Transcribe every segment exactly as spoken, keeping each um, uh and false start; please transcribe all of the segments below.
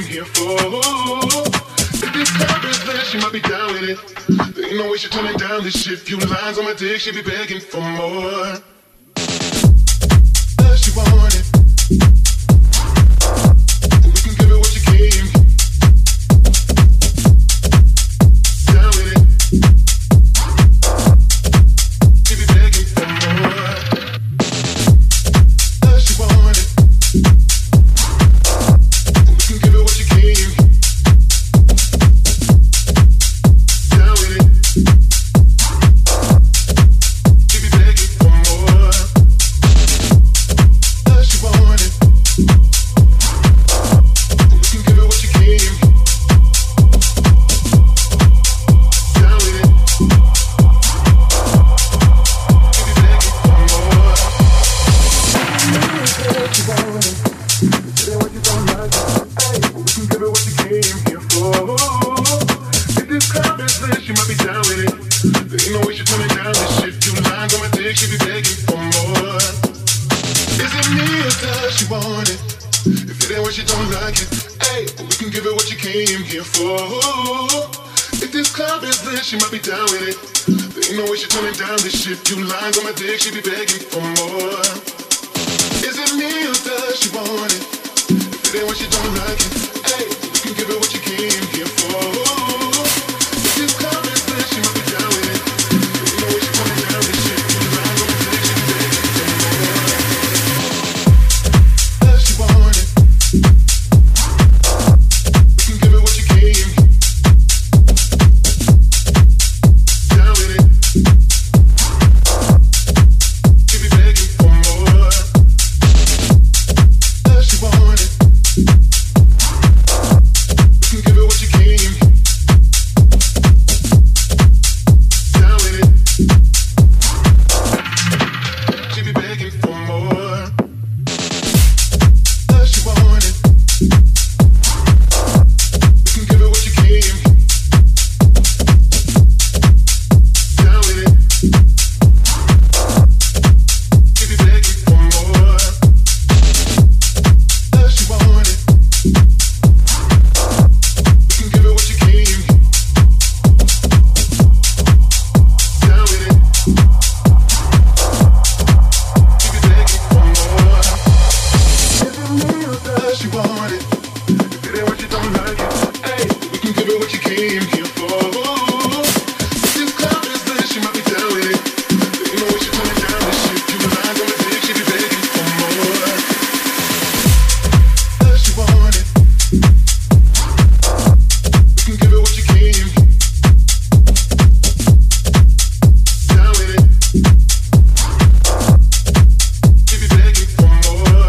here for. If this club is lit, she might be down with it. There ain't no way she turning down this shit. Few lines on my dick, she be begging for more. Does she want it? And we can give her what she came. Down with it. She be begging for more. Does she want it? And we can give her what she came. Down with it. She be begging for more. Does she want it? And we can give her what she came. Down with it. She be begging for more. Does she want it? Say what you don't like it. Hey, we can give her what she came here for. If this club is lit, she might be down with it. There ain't no way she turning down this shit. Few lines on my dick, she be begging for more. Is it me or does she want it? If it ain't what she don't like it, hey, we can give her what she came here for. If this club is lit, she might be down with it. There ain't no way she turning down this shit. Few lines on my dick, she be begging for more. Is it me or does she want it? If it ain't what she don't like it, hey, we can give her what she came here for. If this club is lit, she might be down with it. There ain't no way she turning down this shit. Few lines on my dick, she be begging for more. Does she want it? We can give her what she came. Down with it. She be begging for more. Does she want it? We can give her what she came. Down with it. She be begging for more. Does she want it? We can give her what she came. Down with it. She be begging for more. Does she want it? We can give her what she came. Down with it. She be begging for more. Is it me or does she want it? If it ain't what you don't like it, hey, we can give her what you came here for. If this club is lit, she might be down with it. There ain't no way she turning down this shit. Few lines on my dick, she be begging for more. Does she want it? We can give her what she came. Down with it. She be begging for more.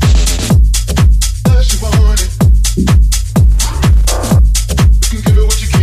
Does she want it? We can give her what she came.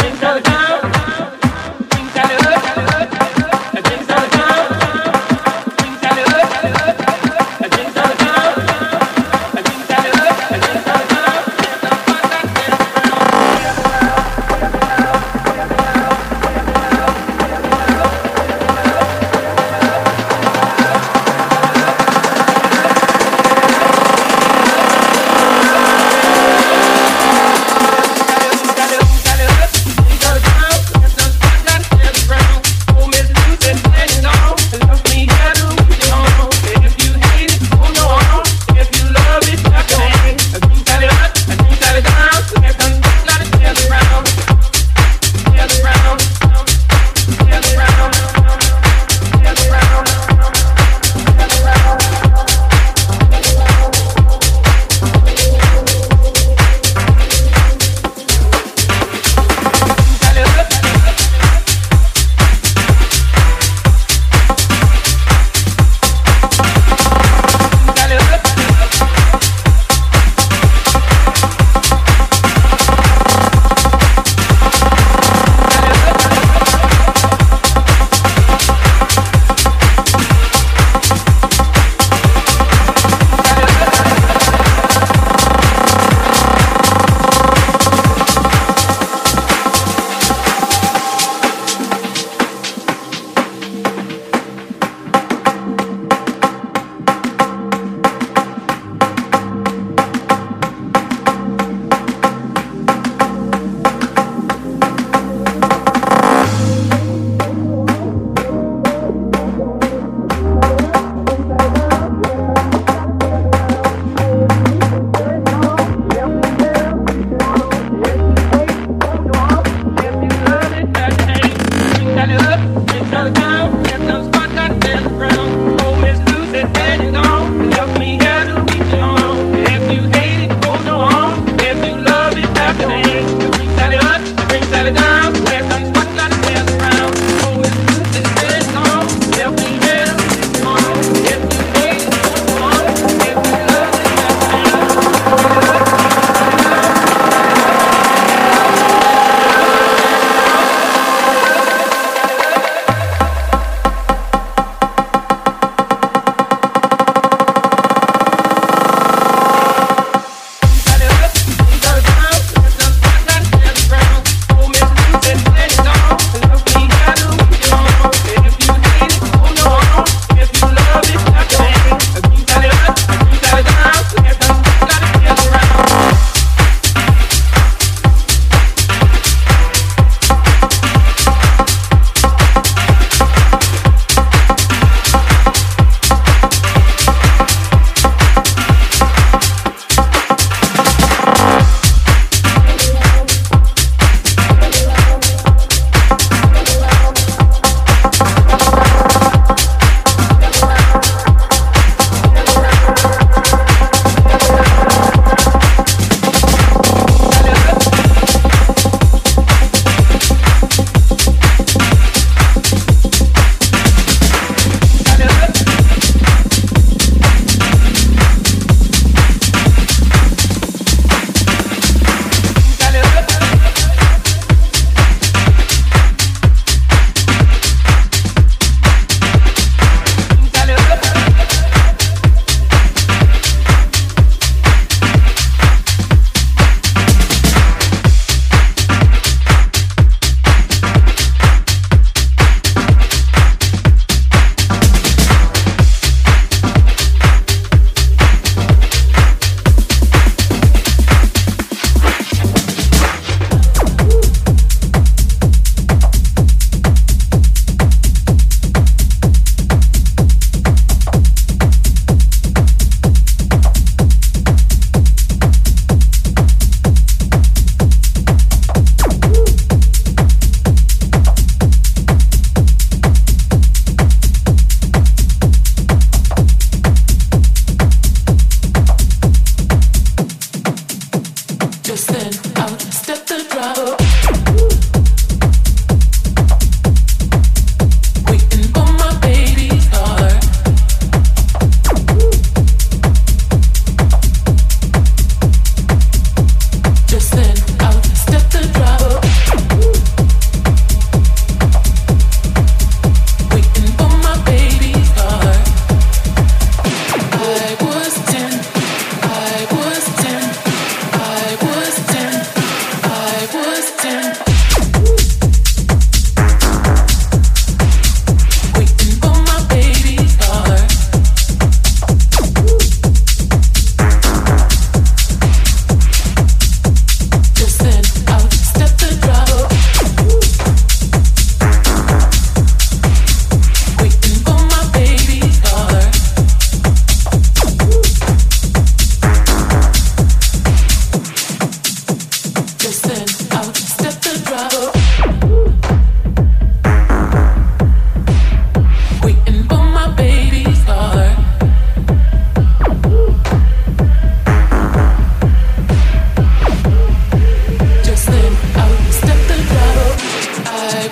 Got it.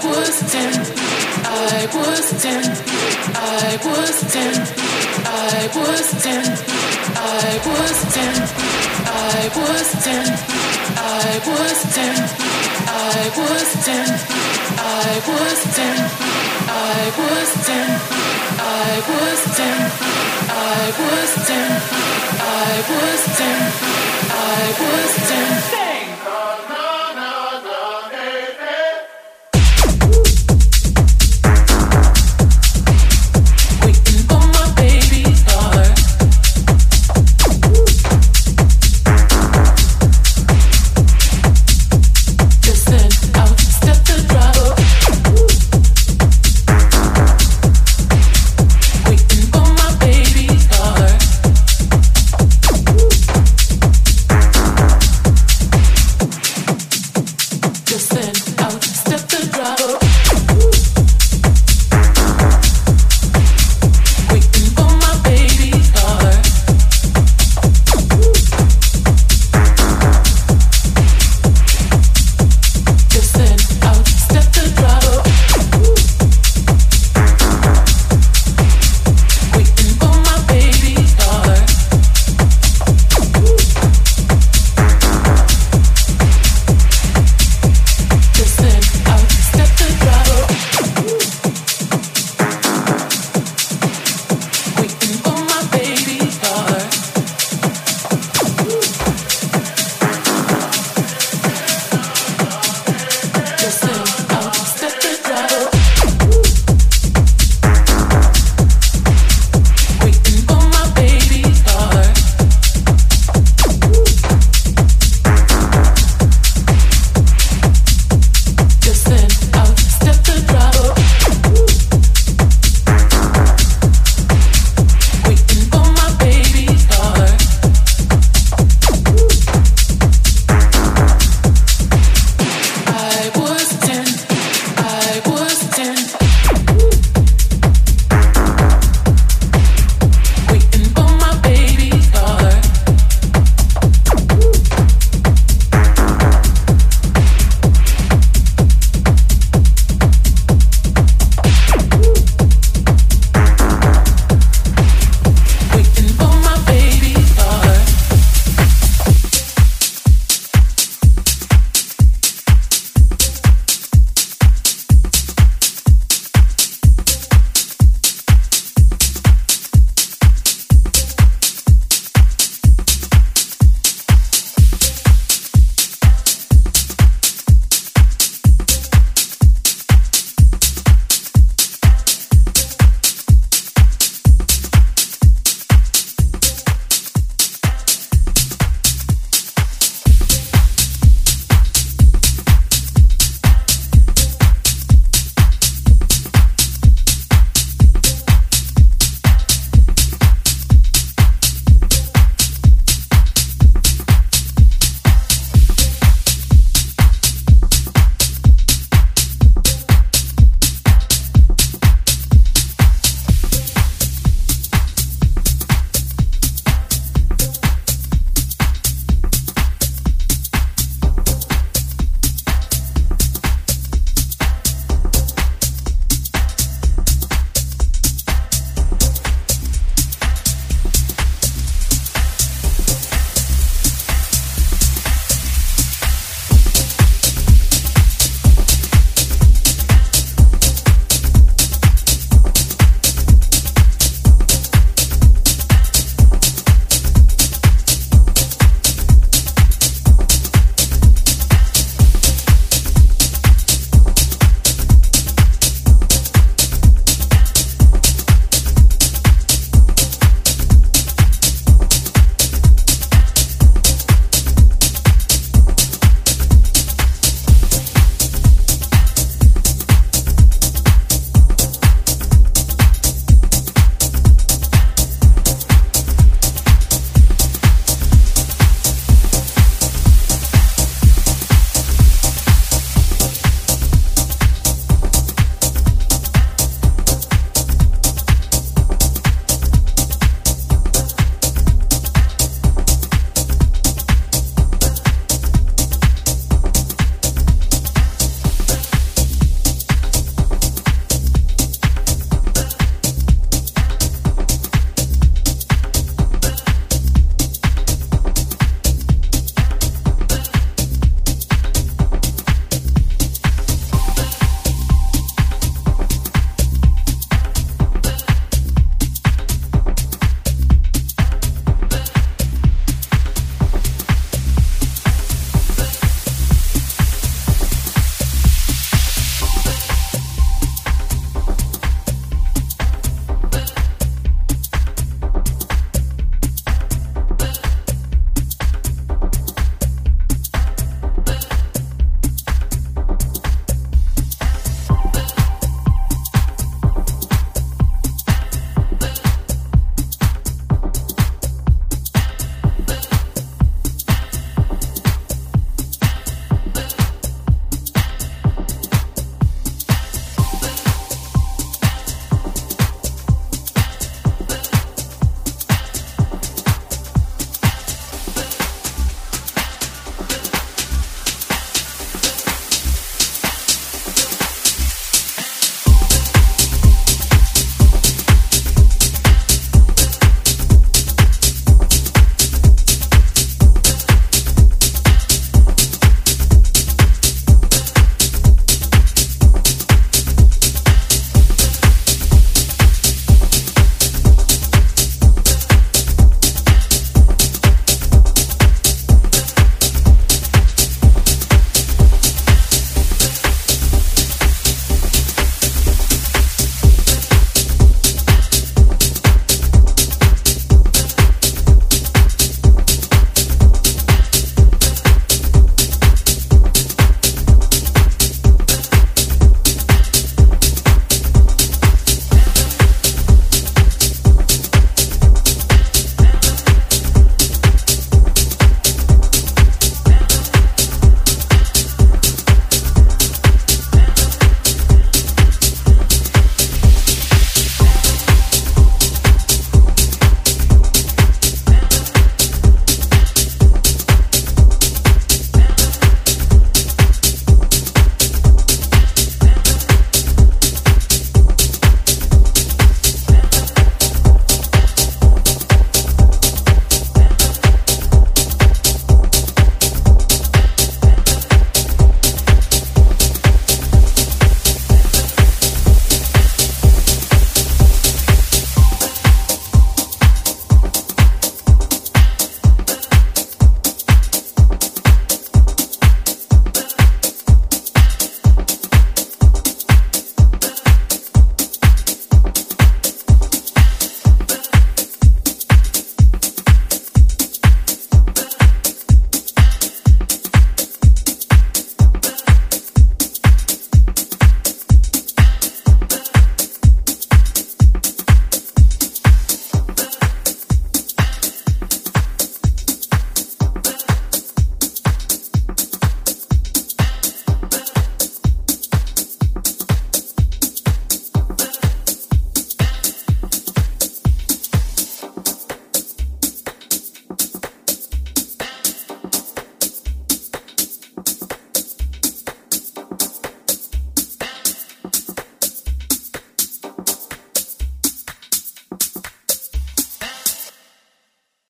was ten. I was ten. I was ten. I was ten. I was ten. I was ten. I was ten. I was ten. I was ten. I was ten. I was ten. I was ten. I was ten. I was ten.